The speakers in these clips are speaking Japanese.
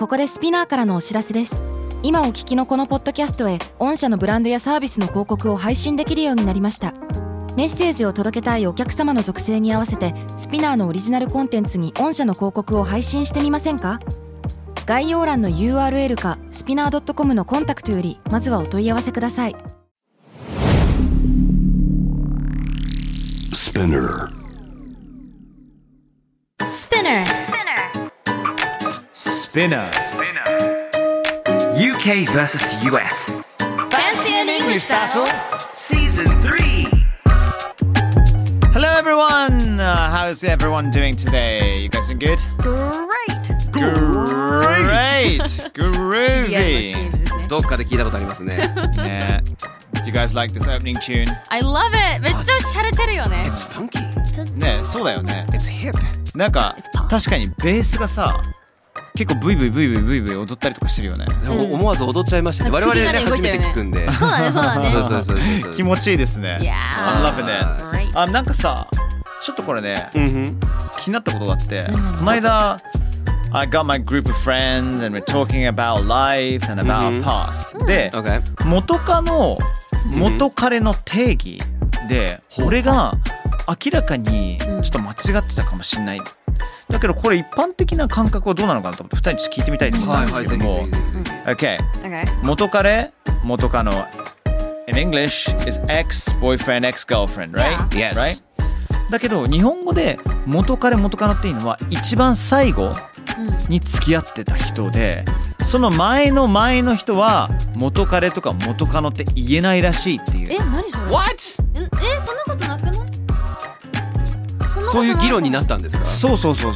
ここでスピナーからのお知らせです。今お聞きのこのポッドキャストへ御社のブランドやサービスの広告を配信できるようになりました。メッセージを届けたいお客様の属性に合わせてスピナーのオリジナルコンテンツに御社の広告を配信してみませんか？概要欄の URL かスピナー .com のコンタクトよりまずはお問い合わせください。 スピナー Spinner UK vs US Fancy an English battle Season 3 Hello everyone! How's everyone doing today? You guys doing good? Great! Groovy! どっかで聞いたことありますね。 Yeah. Do you guys like this opening tune? I love it! めっちゃ洒落てるよね。 It's funky. ね、そうだよね。 It's hip. なんか確かにベースがさ結構ブイブイブイブイブイブイ踊ったりとかしてるよね。 思わず踊っちゃいましたね。我々ね初めて聞くんで。 そうだねそうだね。 そう気持ちいいですね。 Yeah. I'm loving it. あ、なんかさちょっとこれね、気になったことがあって、この間I got my group of friends and we're talking about life and about past で、元彼の定義で俺が明らかにちょっと間違ってたかもしれない。だけどこれ一般的な感覚はどうなのかなと思って2人にちょっと聞いてみたいと思ったんですけども、Okay. 元カノ in English is ex-boyfriend, ex-girlfriend, right? Yes. Right? だけど日本語で元カノっていうのは一番最後に付き合ってた人で、その前の人は元彼とか元カノって言えないらしいっていう。 何それ What? そんなことなくない？ そういう議論になったんですか？ そう。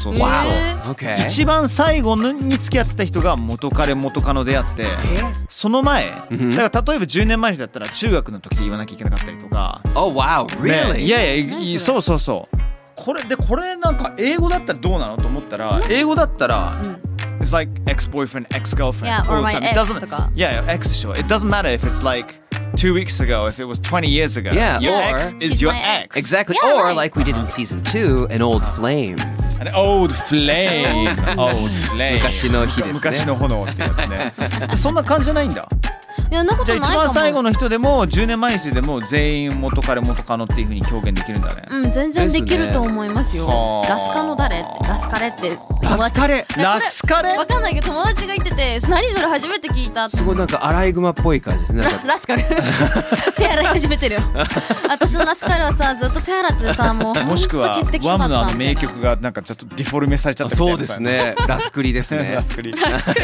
Okay. 一番最後に付き合ってた人が元彼元カノであって、その前、だから例えば10年前の人だったら中学の時で言わなきゃいけなかったりとか。 Oh wow, really? ね、いやそう。これなんか英語だったらどうなのと思ったら、英語だったら、It's like ex-boyfriend, ex-girlfriend. Yeah, or my ex とか。 Yeah, ex でしょ。It doesn't matter if it's like 2 weeks ago, if it was 20 years ago. Yeah, your or ex is your ex. Exactly. Or like we did in season 2, an old flame. An old flame. Old flame. 昔の火ですね。 昔の炎ってやつね。そんな感じじゃないんだ。 いや、なことないかも。 じゃあ一番最後の人でも10年前の人でも全員元彼元カノっていう風に表現できるんだね。 全然できると思いますよ。ラスカノ誰ってラスカレってラスカレわかんないけど友達が言ってて、何それ初めて聞いたって。 すごいなんかアライグマっぽい感じですね。 ラスカル手洗い始めてるよ。私のラスカルはさずっと手洗ってさ、もしくはワムの名曲がなんかちょっとディフォルメされちゃったみたいな。 そうですね。ラスクリですね。 ラスクリ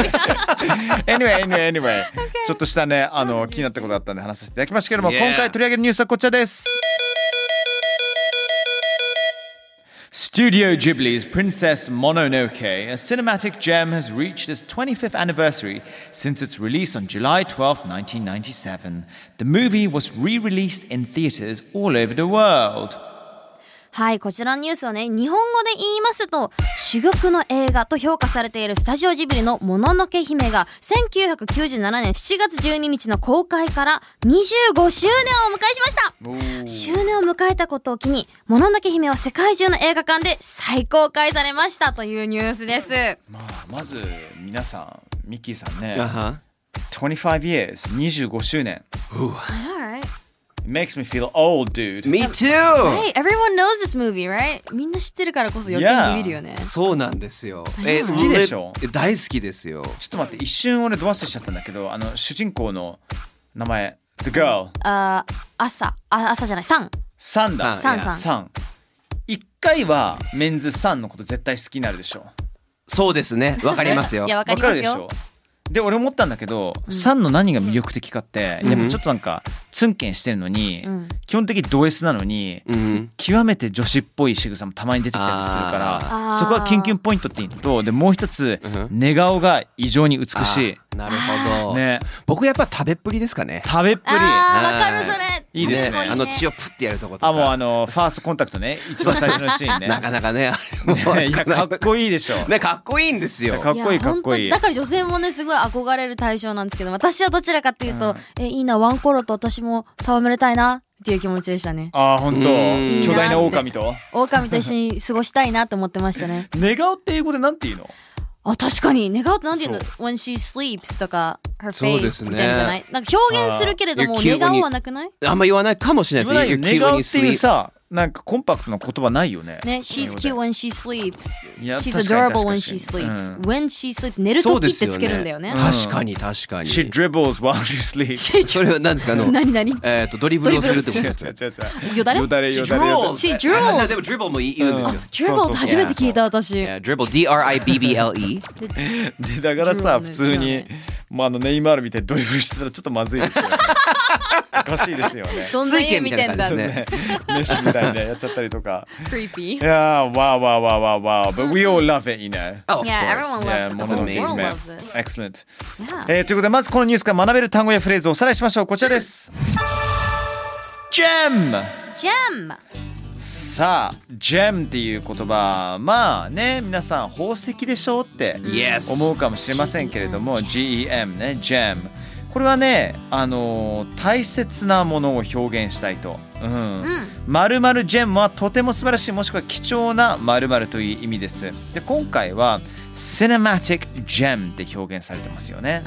anyway ちょっとしたね気になったことがあったんで話させていただきましたけども、今回取り上げるニュースはこちらです。Studio Ghibli's Princess Mononoke, a cinematic gem, has reached its 25th anniversary since its release on July 12, 1997. The movie was re-released in theaters all over the world. はい、こちらのニュースはね、日本語で言いますと珠玉の映画と評価されているスタジオジブリのもののけ姫が1997年7月12日の公開から25周年を迎えしました。周年を迎えたことを機にもののけ姫は世界中の映画館で再公開されましたというニュースです。 まず皆さんミッキーさんね、25 years 25周年。It makes me feel old, dude. Me too! Right, everyone knows this movie, right? みんな知ってるからこそ余計に見るよね。 そうなんですよ。 好きでしょ？ 大好きですよ。 ちょっと待って、一瞬俺ド忘れしちゃったんだけど、主人公の名前 The girl。 朝じゃない、サンだ。 サン。一回はメンズサンのこと絶対好きになるでしょ。 そうですね。わかりますよ。 いや、わかりますよ。 わかるでしょ。で俺思ったんだけど、サンの何が魅力的かって、やっぱちょっとなんかツンケンしてるのに、基本的にド S なのに、極めて女子っぽい仕草もたまに出てきたりするから、そこはキュンキュンポイントっていうのと、でもう一つ、寝顔が異常に美しい。 なるほど。 ね、 僕やっぱ食べっぷりですかね。 食べっぷり。 わかるそれ。 いいですね。 血をプッてやるとことか。 もうファーストコンタクトね、一番最初のシーンね。 なかなかね、 いやかっこいいでしょ。 ね、かっこいいんですよ。 かっこいい。 だから女性もねすごい憧れる対象なんですけど、私はどちらかっていうと、いいなワンコロと私も戯れたいなっていう気持ちでしたね。 本当。巨大な狼と一緒に過ごしたいなと思ってましたね。 寝顔って英語でなんて言うの？ あ、確かに願うとなんていうの when she sleeps とか her そうで face すねみたいなんじゃない？なんか表現するけれども願うはなくない？ あんま言わないかもしれないですね。 願うっていうさ、なんかコンパクトな言葉ないよね。 ね、she's cute when she sleeps. いや She's 確かに adorable when 確 she かに sleeps. When she sleeps 寝るときってつけるんだよね。 確かに確かに。 She dribbles while she sleeps. それは何ですか？ 何ドリブルをするってことですか？ 違うよだれ？ よだれ She dribbles. She dribbles. でも dribble も言うんですよ。 dribble って初めて聞いた私。 dribble D-R-I-B-B-L-E でだからさ、普通にもうネイマールみたいにドリブルしてたらちょっとまずいですよね。おかしいですよね。 どんな家見てんだって。 メッシみたいにねやっちゃったりとか。 Creepy. Yeah, wow. But we all love it, you know. Oh, of Yeah, course. everyone loves it. も The の whole のけ world 姫 loves it. Excellent. Yeah. ということでまずこのニュースから学べる単語やフレーズをおさらいしましょう。こちらです。Gem! Gem! さあ、Gem っていう言葉、まあね、皆さん宝石でしょって Yes. 思うかもしれませんけれども、Gem ね、Gem。これはね、大切なものを表現したいと。〇〇ジェムはとても素晴らしいもしくは貴重な〇〇という意味です。で、今回は Cinematic Gem って表現されてますよね。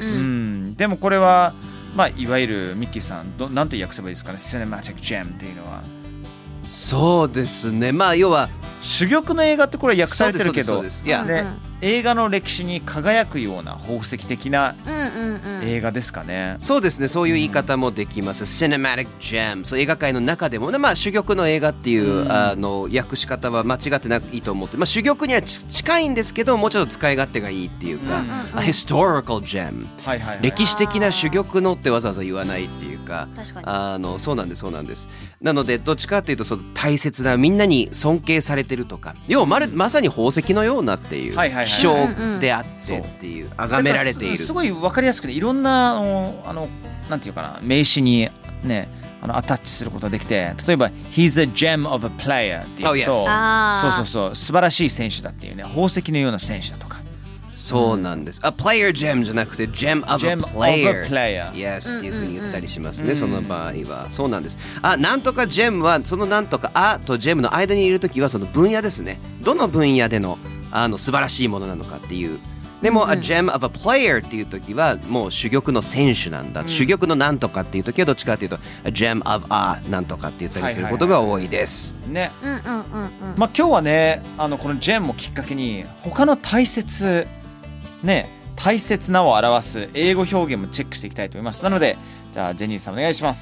Yes. でもこれは、まあ、いわゆるミッキーさん、なんて訳せばいいですかね、Cinematic Gem っていうのは。 そうですね。まあ要は珠玉の映画ってこれ訳されてるけど、映画の歴史に輝くような宝石的な映画ですかね。 そうですね。そういう言い方もできます。Cinematic Gem。そう映画界の中でもね、まあ珠玉の映画っていう訳し方は間違ってないと思って、まあ珠玉には近いんですけど、もうちょっと使い勝手がいいっていうか、Historical Gem。歴史的な珠玉のってわざわざ言わないっていうか、そうなんです。なのでどっちかっていうとその大切なみんなに尊敬されてるとか、要はまさに宝石のようなっていう。希少であってっていう崇められている。 すごい分かりやすくていろんななんていうかな名詞にねアタッチすることができて、例えば He's a gem of a player っていうと、そう素晴らしい選手だっていうね、宝石のような選手だとか。 そうなんです。A player gem じゃなくて gem of a player。Yes っていうふうに言ったりしますね。その場合はそうなんです。なんとか gem はそのなんとかと gem の間にいるときはその分野ですね。どの分野での素晴らしいものなのかっていう。でも、a gem of a player っていう時はもう珠玉の選手なんだ。珠玉のなんとかっていう時はどっちかっていうと a gem of a なんとかって言ったりすることが多いです。 ね。まあ今日はね、この gem をきっかけに他の大切なを表す英語表現もチェックしていきたいと思います。なので、じゃあジェニーさんお願いします。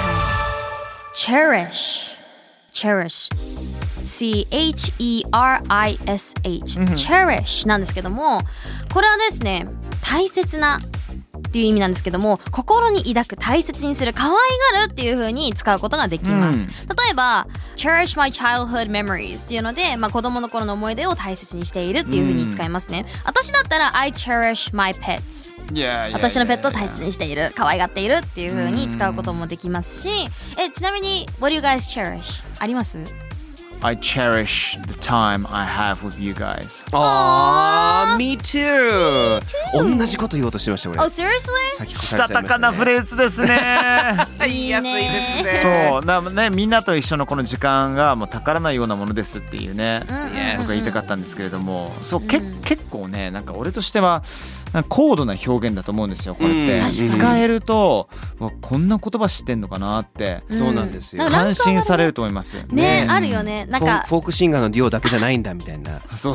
Cherish Cherish なんですけども、これはですね、大切なっていう意味なんですけども、心に抱く、大切にする、可愛がるっていう風に使うことができます。例えば Cherish my childhood memories っていうので、まあ、子供の頃の思い出を大切にしているっていう風に使いますね。私だったら I cherish my pets。私のペットを大切にしている、可愛がっているっていう風に使うこともできますし、ちなみに What do you guys cherish? あります？ I cherish the time I have with you guys. Me too. 同じこと言おうとしてました俺。 seriously? したたかなフレーズですね。 言いやすいですね。 そうね、みんなと一緒のこの時間がもう宝のようなものですっていうね、僕が言いたかったんですけれども、そう結構ね、なんか俺としては高度な表現だと思うんですよ。これって使えるとこんな言葉知ってんのかなってそうなんですよ。 感心されると思いますね。あるよね。なんかフォークシンガーのデュオだけじゃないんだみたいな。 そう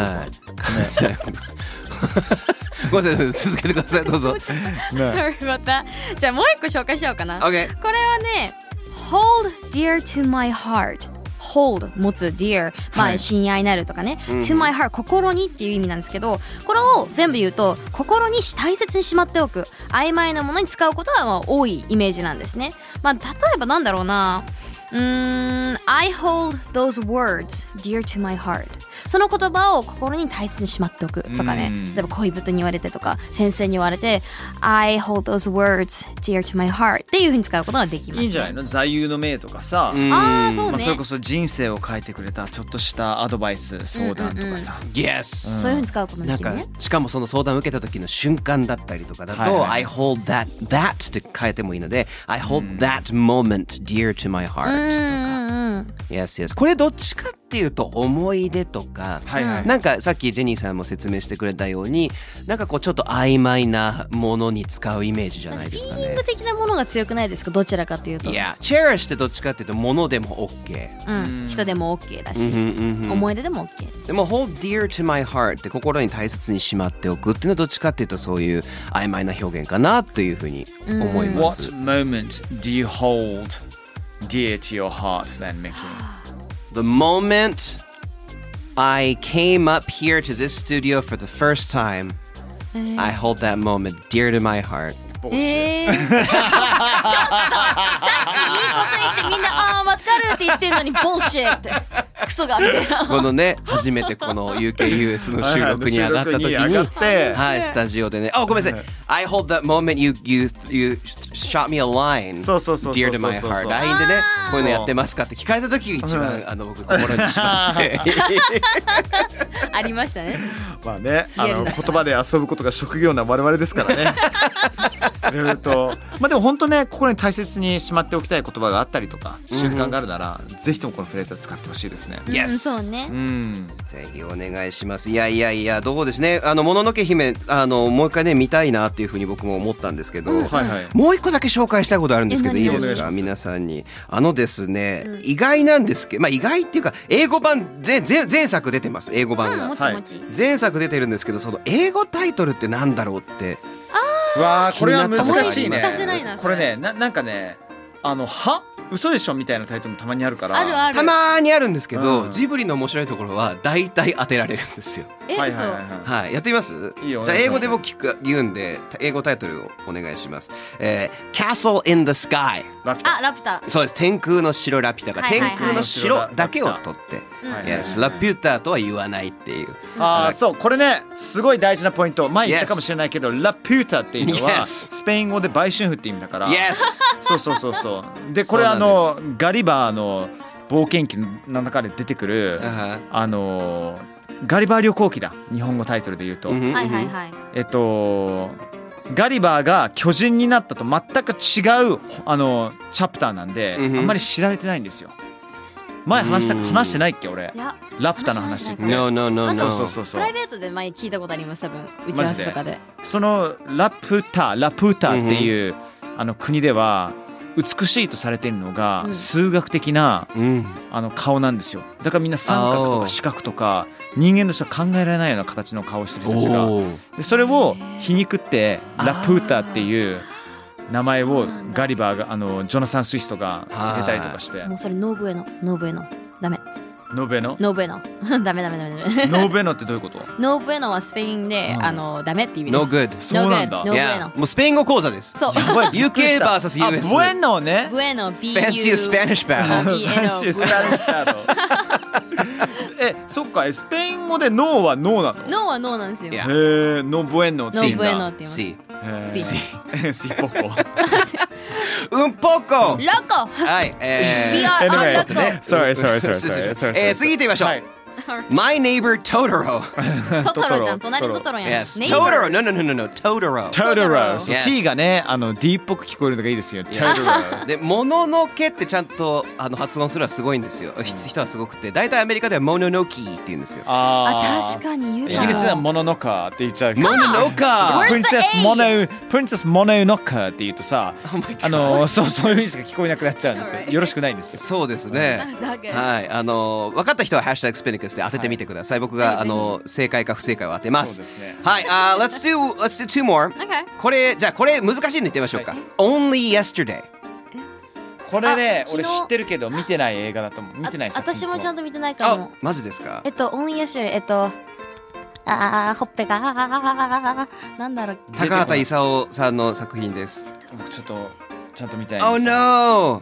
ごめんなさい、続けてください、どうぞ。 Sorry about that。じゃあもう一個紹介しようかな。 これはね Hold dear to my heart。Hold 持つ dear、まあ親愛なるとかね、to my heart 心にっていう意味なんですけど、これを全部言うと心に大切にしまっておく、曖昧なものに使うことがまあ多いイメージなんですね。まあ例えばなんだろうな、I hold those words dear to my heart。その言葉を心に大切にしまっておくとかね。例えば恋人に言われてとか先生に言われて I hold those words dear to my heart っていう風に使うことができます、ね。いいんじゃないの？座右の銘とかさ。 そうね。 まあ、それこそ人生を変えてくれたちょっとしたアドバイス、相談とかさ。 Yes。 そういう風に使うこともできるね。 なんかしかもその相談を受けた時の瞬間だったりとかだと、I hold that って変えてもいいので、I hold that moment dear to my heart。 Yes, yes. これどっちかっていうと思い出とか、なんかさっきジェニーさんも説明してくれたように、なんかこうちょっと曖昧なものに使うイメージじゃないですかね。 フィーリング的なものが強くないですか、どちらかというと。 いや、cherish ってどっちかっていうと物でも OK、 人でも OK だし、思い出でも OK。 でも hold dear to my heart って心に大切にしまっておくっていうのはどっちかっていうとそういう曖昧な表現かなというふうに思います。 What moment do you hold dear to your heart then, Mickey? The moment I came up here to this studio for the first time, I hold that moment dear to my heart. ちょっとさっきいいこと言ってみんな分かるって言ってんのにボルシッってクソがみたいな。 このね初めてこの UKUS の収録に上がった時にはいスタジオでね、ごめんなさい、I hold that moment you shot me a line dear to my heart。 LINE でねこういうのやってますかって聞かれた時が一番僕心にしまってありましたね。 まあね、言葉で遊ぶことが職業な我々ですからね。いろいろとまあでも本当ね、心に大切にしまっておきたい言葉があったりとか瞬間があるなら、ぜひともこのフレーズは使ってほしいですね。 そうね、 ぜひお願いします。いやどうですね、もののけ姫もう一回ね見たいなっていうふうに僕も思ったんですけど、もう一個だけ紹介したいことあるんですけどいいですか、皆さんに。ですね、意外なんですけど、意外っていうか英語版前作出てます。英語版が、前作出てるんですけど、その英語タイトルってなんだろうって。 わー、これは難しいね。これね、なんかね、嘘でしょみたいなタイトルもたまにあるから、 たまにあるんですけど、ジブリの面白いところは大体当てられるんですよ。はい、やってみます？じゃあ英語で僕言うんで、英語タイトルをお願いします。Castle in the Sky。 ラピュタ。そうです。 天空の城ラピュタが天空の城だけを取って、Yes、ラピュタとは言わないっていう。 そう、これねすごい大事なポイント。前言ったかもしれないけど、ラピュタっていうのはスペイン語で売春婦って意味だから。そうで、これガリバーの冒険記の中で出てくるガリバー旅行記だ、日本語タイトルで言うと。ガリバーが巨人になったと全く違うチャプターなんで、あんまり知られてないんですよ。前話してないっけ俺、ラピュタの話って。 No。 プライベートで前聞いたことあります、多分打ち合わせとかで。 そのラピュタっていう国では美しいとされているのが数学的な顔なんですよ。だからみんな三角とか四角とか人間としては考えられないような形の顔をしてる人たちが、でそれを皮肉ってラプータっていう名前をガリバーがジョナサン・スイストが入れたりとかして。 もうそれノーブエノダメ。 ノーベノダメ。ノーベノってどういうこと？ ノーブエノはスペインでダメって意味です。 No good。 そうなんだ。 ノーブエノ。 もうスペイン語講座です。 そう。 UK vs US。 ブエノね。 ブエノ Fancy Spanish battle。 Fancy Spanish battle。そっか、スペイン語でノーはノーなの？ ノーはノーなんですよ。 ノーブエノって言うんだ。 ノーブエノって言います。シポコ。 Un poco。 ロコ。 はい。 We are loco。 Sorry。 次行ってみましょう。My neighbor Totoro。 トトロちゃん、隣のトトロやん。 Totoro。No。 Totoro。T がね、D っぽく聞こえるのがいいですよ。Totoro。 で、もののけってちゃんと発音するのはすごいんですよ。人はすごくて、大体アメリカではモノノキーって言うんですよ。 確かに言うか。 イギリスではモノノカって言っちゃう。 モノノカ。 プリンセスモノノカって言うとさ、そういう意味しか聞こえなくなっちゃうんですよ。よろしくないんですよ。 そうですね。はい。分かった人はハッシュタグスペニックスで当ててみてください。僕が正解か不正解を当てます。 そうですね。 はい。Let's do two more。これ難しいの言ってみましょうか。Only Yesterday。 これね、俺知ってるけど見てない映画だと思う。見てない作品。 私もちゃんと見てないかも。 マジですか ？Only Yesterday。ほっぺがなんだろう。 高畑勲さんの作品です。 僕ちょっとちゃんと見たいんですよ。 Oh no。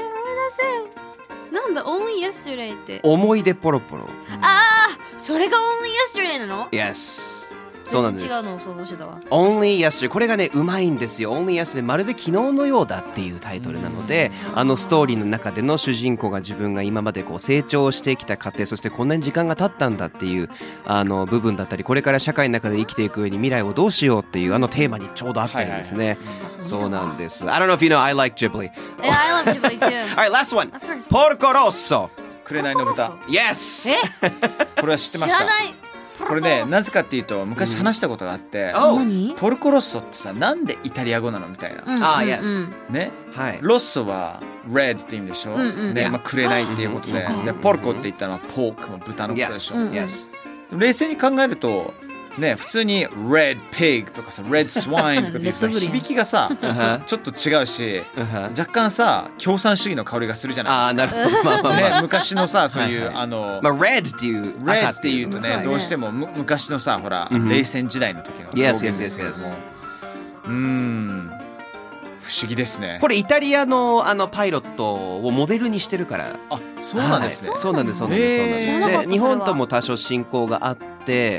なんだ Only Yesterday って。 思い出ポロポロ。 それが Only Yesterday なの？ Yes。 そうなんです。 全然違うのを想像してたわ。 Only Yesterday これがねうまいんですよ。 Only Yesterday まるで昨日のようだっていうタイトルなので、ストーリーの中での主人公が自分が今までこう成長してきた過程、そしてこんなに時間が経ったんだっていう部分だったり、これから社会の中で生きていく上に未来をどうしようっていうテーマにちょうど合ってるんですね。そうなんです。I don't know if you know I like Ghibli. Yeah, I love Ghibli too. Alright, last one. Porco Rosso. 紅の豚。 Yes. これは知ってました。 知らない。 これね、なぜかっていうと昔話したことがあって、 何？ ポルコロッソってさ、なんでイタリア語なのみたいな。 Yes. ね、 はい。 ロッソは red って意味でしょ。ね、紅っていうことで、でポルコって言ったのはポークの豚のことでしょ。 Yes. 冷静に考えると。ね、普通に red pig とかさ red swine とかっていうさ響きがさちょっと違うし若干さ共産主義の香りがするじゃないですか。 なるほど。 ね、昔のさそういう red っていう red っていうとねどうしても昔のさほら冷戦時代の時の表現ですけども不思議ですね。 これイタリアのパイロットをモデルにしてるから。 あ、そうなんですね。 そうなんですそうなんですそうなんです。で日本とも多少親交があって、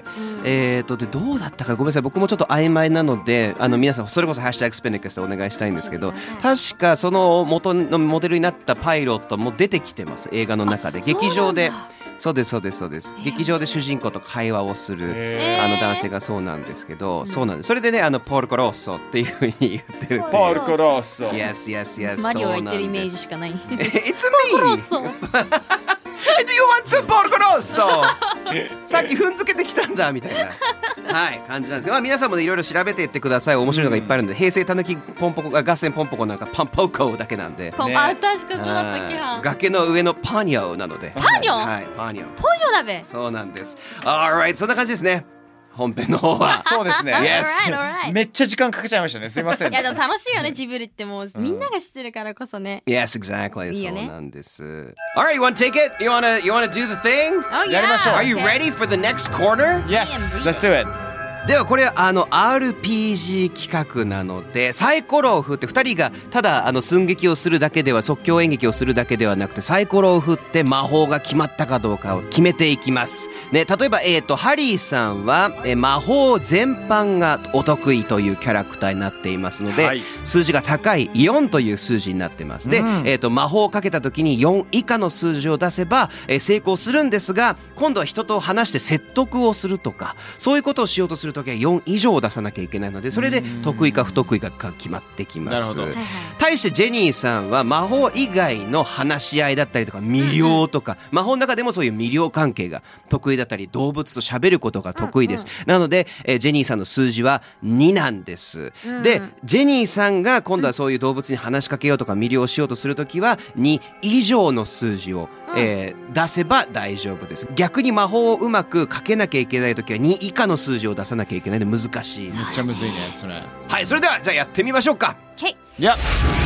でどうだったかごめんなさい、僕もちょっと曖昧なので皆さんそれこそハッシュタグスペネックスでお願いしたいんですけど、確かその元のモデルになったパイロットも出てきてます映画の中で。劇場で。そうですそうですそうです。劇場で主人公と会話をする男性がそうなんですけど、そうなんです。それでねポルコロッソっていうふうに言ってる。 ポルコロッソ。 Yes yes yes。 マリオが言ってるイメージしかない。 It's me. Do you want some ポルコロッソ？さっき踏んづけてきたんだみたいな。はい感じなんですけど、皆さんもいろいろ調べていってください。面白いのがいっぱいあるんで、平成たぬきポンポコが合戦ポンポコなんかパンポコだけなんで、 あ、確かそうだったっけな。 崖の上のパニョなので。 パニョ？ はいパニョ。 ポニョだべ。 そうなんです。Alright そんな感じですね。本編の方は。 そうですね。 Alright. めっちゃ時間かけちゃいましたね。すいません。 いやでも楽しいよねジブリってもうみんなが知ってるからこそね。 Yes exactly。 いいよね。 そうなんです。Alright you wanna take it? You wanna do the thing? Oh yeah. やりましょう。 Are you ready for the next corner? Yes. Let's do it. ではこれRPG 企画なので、サイコロを振って2人がただ寸劇をするだけでは、即興演劇をするだけではなくて、サイコロを振って魔法が決まったかどうかを決めていきます、ね、例えば、ハリーさんは魔法全般がお得意というキャラクターになっていますので、はい、数字が高い4という数字になってます。で、魔法をかけた時に4以下の数字を出せば、成功するんですが、今度は人と話して説得をするとかそういうことをしようとするときは4以上出さなきゃいけないので、それで得意か不得意かが決まってきます。対してジェニーさんは魔法以外の話し合いだったりとか魅了とか、魔法の中でもそういう魅了関係が得意だったり、動物と喋ることが得意です。なので、ジェニーさんの数字は2なんです。でジェニーさんが今度はそういう動物に話しかけようとか魅了しようとするときは2以上の数字を、出せば大丈夫です。逆に魔法をうまくかけなきゃいけないときは2以下の数字を出さなきゃいけないので難しい。 めっちゃむずいねそれ。 はい、それではじゃあやってみましょうか。 Okay. いや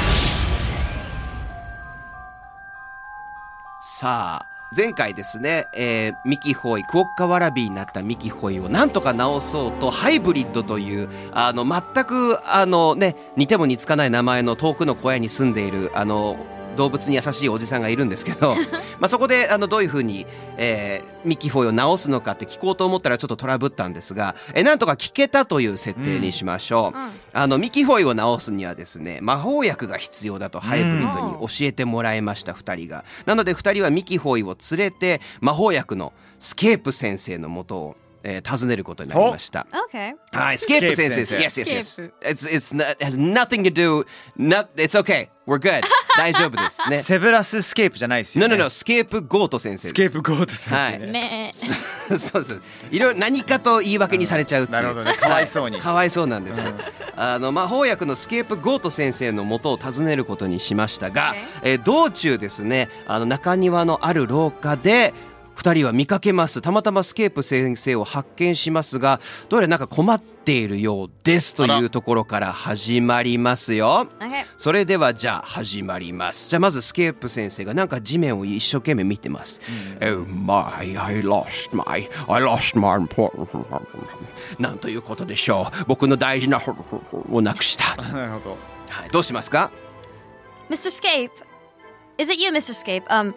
さあ前回ですね、ミキホイクオッカワラビーになったミキホイをなんとか直そうとハイブリッドという全くね似ても似つかない名前の遠くの小屋に住んでいる動物に優しいおじさんがいるんですけどそこでどういうふうに、ミキホイを直すのかって聞こうと思ったらちょっとトラブったんですが、なんとか聞けたという設定にしましょう。ミキホイを直すにはですね魔法薬が必要だとハイブリッドに教えてもらいました2人が。なので2人はミキホイを連れて魔法薬のスケープ先生のもとを訪ねることになりました。 Okay. はい、スケープ先生です。Yes, yes, yes. It has nothing to do. It's okay. We're good. 大丈夫ですね。 セブラススケープじゃないですよね。 No,スケープゴート先生です。 スケープゴート先生ね。 そうです。いろいろ何かと言い訳にされちゃうっていう。 なるほどね。かわいそうに。 かわいそうなんです。魔法薬のスケープゴート先生の元を訪ねることにしましたが、道中ですね、中庭のある廊下で2人は見かけます。たまたまスケープ先生を発見しますが、どうやらなんか困っているようですというところから始まりますよ。それではじゃあ始まります。じゃあまずスケープ先生がなんか地面を一生懸命見てます。Oh my, I lost my important なんということでしょう。僕の大事なをなくした。 なるほど。 はい、どうしますか？ Mr. Scape, is it you, Mr. Scape?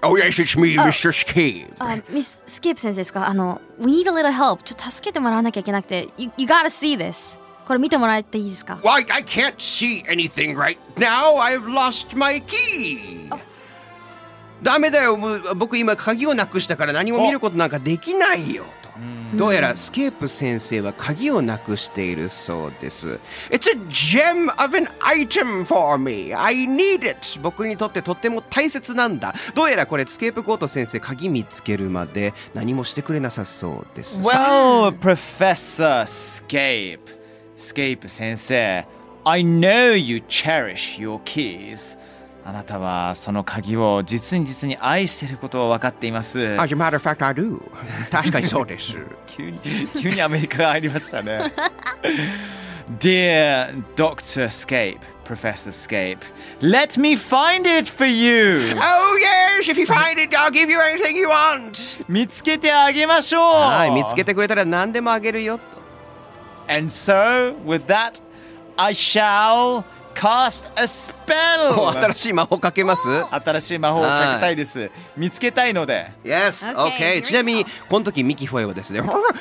Oh yes, it's me, Mr. Scape. Miss Scape 先生ですか？We need a little help. ちょっと助けてもらわなきゃいけなくて。You gotta see this. これ見てもらっていいですか？ Well, I can't see anything right now. I've lost my key. ダメだよ。僕今鍵をなくしたから何も見ることなんかできないよと。どうやらスケープ先生は鍵をなくしているそうです。It's a gem of an item for me. I need it. 僕にとってとっても大切なんだ。どうやらこれスケープコート先生鍵見つけるまで何もしてくれなさそうです。 Well, Professor Scape. Scape 先生 I know you cherish your keys. あなたはその鍵を実に愛していることを分かっています。 As a matter of fact, I do. 確かにそうです。 急にアメリカが入りましたね。Dear Dr. Scape, Professor Scape, let me find it for you. Oh yes, if you find it, I'll give you anything you want. 見つけてあげましょう。 はい、見つけてくれたら何でもあげるよと。 And so, with that, I shall cast a spell. 新しい魔法かけます？ 新しい魔法をかけたいです。見つけたいので。 Yes, Okay, okay. ちなみにこの時ミキフォイはですね、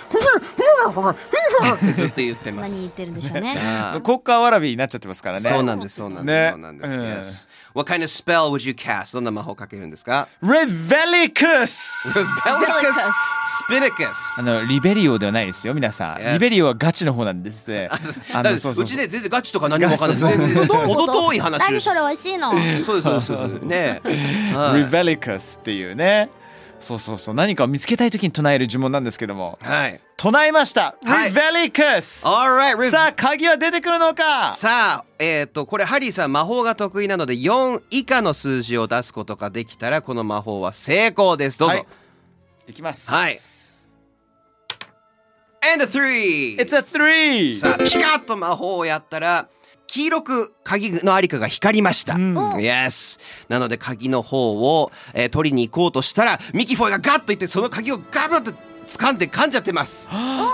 ってずっと言ってま何言っす。 てるんでしょうね。 国家わらびになっちゃってますからね。 そうなんです、そうなんです、 ねそうなんです。Yes. What kind of spell would you cast? どんな魔法かけるんですか？ Revelicus! Revelicus Spinicus. リベリオではないですよ、皆さん。 Yes. リベリオはガチの方なんですね。 うちね、全然ガチとか何もわかんないです。全然程遠い話です。 何それ美味しいの？ そうですね。 Revelicus っていうね。そう何かを見つけたいときに唱える呪文なんですけども。 はい。 唱えました。 はい Revelicus! Alright, さあ、鍵は出てくるのか？ さあ、これハリーさん魔法が得意なので4以下の数字を出すことができたらこの魔法は成功です。どうぞ。 はい、いきます。 はい。And a 3! It's a 3! さあ、ピカッと魔法をやったら黄色く鍵のありかが光りました。Yes! なので鍵の方を、取りに行こうとしたらミキフォイがガッといってその鍵をガブッと掴んで噛んじゃってます。 Come on, you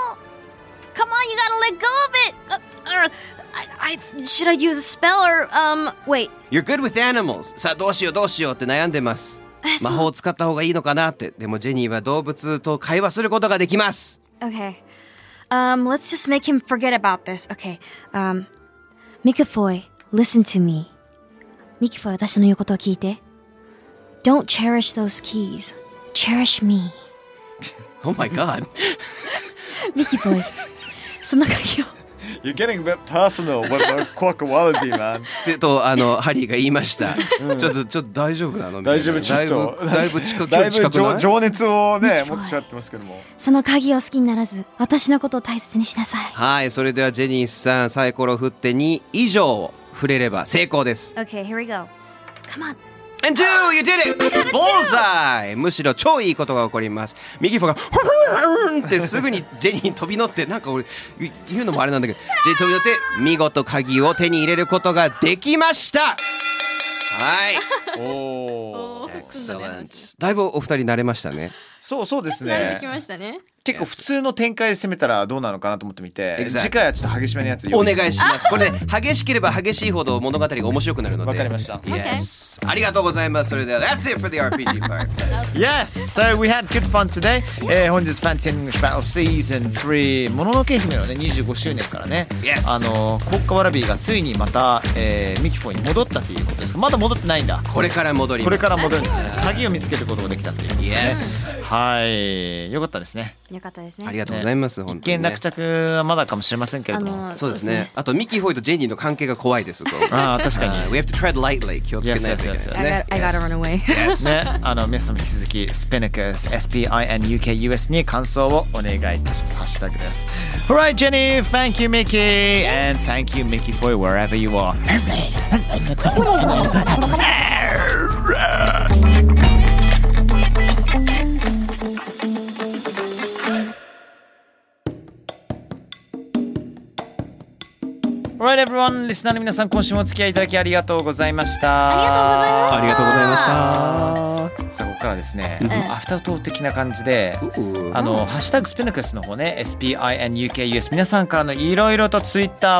gotta let go of it. Should I use a spell or wait? You're good with animals. さあどうしようって悩んでます。魔法を使った方がいいのかなって。でもジェニーは動物と会話することができます。 Okay. Let's just make him forget about this. Okay. Mikafoy, listen to me. Mikafoy, 私の言うことを聞いて。Don't cherish those keys. Cherish me. Oh my god. Mikafoy, その鍵を。 You're getting a bit personal with the quack-a-wallaby, man. とハリーが言いました。ちょっと大丈夫なの？ 大丈夫、ちょっとだいぶ近くない？ 情熱をね持ってしまってますけども。 その鍵を好きにならず、私のことを大切にしなさい。 はい、それではジェニーさんサイコロ振って2以上触れれば成功です。 Okay, here we go. Come on. And 2, you did it! Bullseye! むしろ超いいことが起こります。右フォがフンってすぐにジェニーに飛び乗って、なんか俺言うのもあれなんだけど、ジェニー飛び乗って見事鍵を手に入れることができました。はい。 おー。 Excellent. だいぶお二人慣れましたね。 そうですね。 慣れてきましたね。 結構普通の展開で攻めたらどうなのかなと思ってみて、 Exactly. 次回はちょっと激しめのやつお願いします。これね、激しければ激しいほど物語が面白くなるので。 わかりました。 Yes. ありがとうございます。それでは That's it for the RPG part. Yes, so we had good fun today. 本日 Fancy English Battle Season 3もののけ姫のね25周年からね、 Yes. コッカワラビーがついにまた、ミキフォーに戻ったということですか？まだ戻ってないんだ。 これから戻ります。 これから戻るんですね。鍵を見つけることができたということですね。 Yes. はい、よかったですね。 よかったですね。 ありがとうございます。本当にね。 一見落着はまだかもしれませんけれども。 そうですね。あとミキフォイとジェニーの関係が怖いです。 ああ、確かに。 We have to tread lightly. 気をつけないといけないですね。 I gotta run away. ね、皆さんも引き続き Spinicus SPINUKUS に感想をお願いいたします。ハッシュタグです。Alright, Jenny, thank you, Mickey, and thank you, Mickey, for wherever you are. Alright, everyone, リスナーの皆さん、今週もお付き合いいただきありがとうございました。 ありがとうございました。 ありがとうございました。 さあ、ここからですね、アフタートーク的な感じで、ハッシュタグスピノクスの方ね、SPINUKUS、皆さんからのいろいろとツイッターを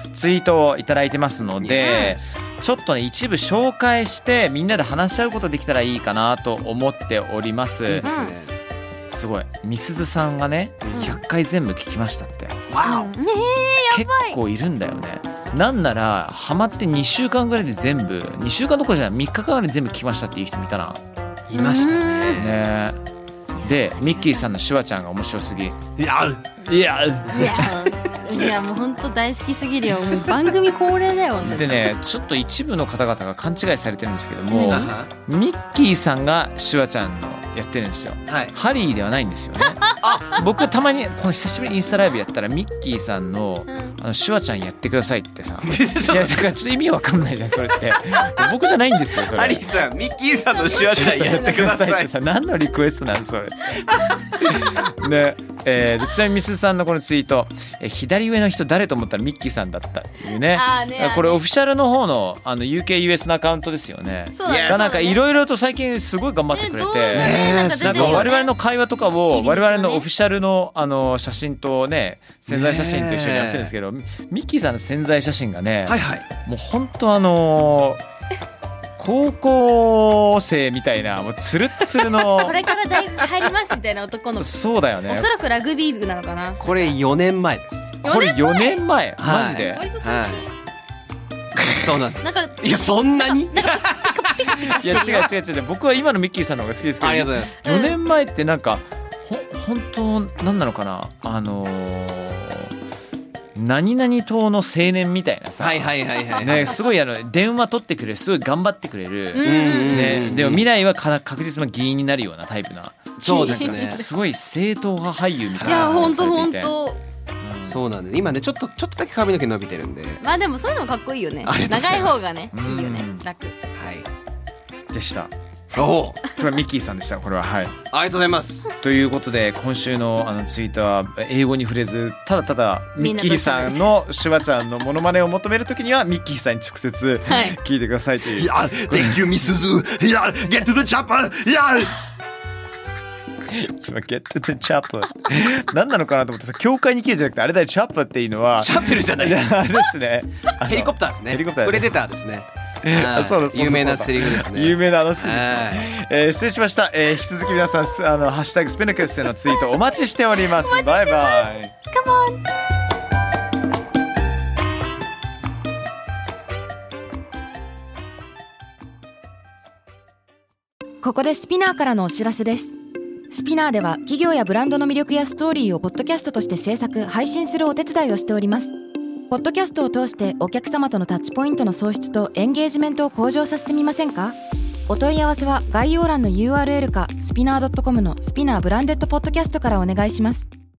ツイートをいただいてますので、ちょっとね一部紹介してみんなで話し合うことできたらいいかなと思っております。すごいみすずさんがね100回全部聞きましたって。 わお、 ねえ、や結ばい。 構いるんだよね。なんならハマって2週間ぐらいで全部、2週間どころじゃない3日間ぐらいで全部聞きましたっていう人見たな。 いましたね。 ねでミッキーさんのシュワちゃんが面白すぎ。 いやいやいやもう本当大好きすぎるよ。もう番組恒例だよ。 でねちょっと一部の方々が勘違いされてるんですけども、 何ミッキーさんがシュワちゃんのやってるんですよ。ハリーではないんですよね。僕たまにこの久しぶりにインスタライブやったらミッキーさんのシュワちゃんやってくださいってさ、いやだからちょっと意味わかんないじゃんそれって。僕じゃないんですよそれ。 ハリーさん、ミッキーさんのシュワちゃんやってくださいってさ、何のリクエストなんそれ。ねでちなみにミスさんのこのツイート、左上の人誰と思ったらミッキーさんだったっていうね。これオフィシャルの方のUK-US のアカウントですよね。 そうだね。 がなんかいろいろと最近すごい頑張ってくれて、なんか我々の会話とかを我々のオフィシャルの写真とね宣材写真と一緒にやってるんですけど、ミッキーさんの宣材写真がね、もう本当高校生みたいなもうツルッツルのこれから大学入りますみたいな男の子。 そうだよね。 おそらくラグビー部なのかな。 これ4年前です。 これ4年前マジで。 割と最近。 そうなんです。 なんかいやそんなに？ なんかピカピカしてるよ。 いや違う僕は今のミッキーさんの方が好きですけど。 ありがとうございます。 4年前ってなんか本当なんなのかな、何々党の青年みたいなさ、ね、すごい電話取ってくれる、すごい頑張ってくれる、ね、でも未来は確実な議員になるようなタイプな。 そうですね。 すごい正統派俳優みたいな。 いや本当そうなんです。今ねちょっとだけ髪の毛伸びてるんで。 まあでもそういうのもかっこいいよね。長い方がねいいよね、楽。 でした。 おお。 ミッキーさんでしたこれは。はい。 ありがとうございます。 ということで今週のツイートは英語に触れず、ただただミッキーさんのシュワちゃんのモノマネを求めるときにはミッキーさんに直接聞いてくださいという。 Thank you, Miss Suzu. Get to the chopper. 今 Get to the chopper 何なのかなと思ってさ、教会に切るじゃなくてあれだよ、チャッパーっていうのはシャベルじゃないです。 あれですね。 ヘリコプターですね。 ヘリコプタープレデターですね。 そうだ有名なセリフですね。 有名な話です。失礼しました。引き続き皆さんハッシュタグスペナクスでのツイートお待ちしております。バイバイ。 Come on。 ここでスピナーからのお知らせです。スピナーでは企業やブランドの魅力やストーリーをポッドキャストとして制作・配信するお手伝いをしております。ポッドキャストを通してお客様とのタッチポイントの創出とエンゲージメントを向上させてみませんか？お問い合わせは概要欄の URL かスピナー .com のスピナーブランデッドポッドキャストからお願いします。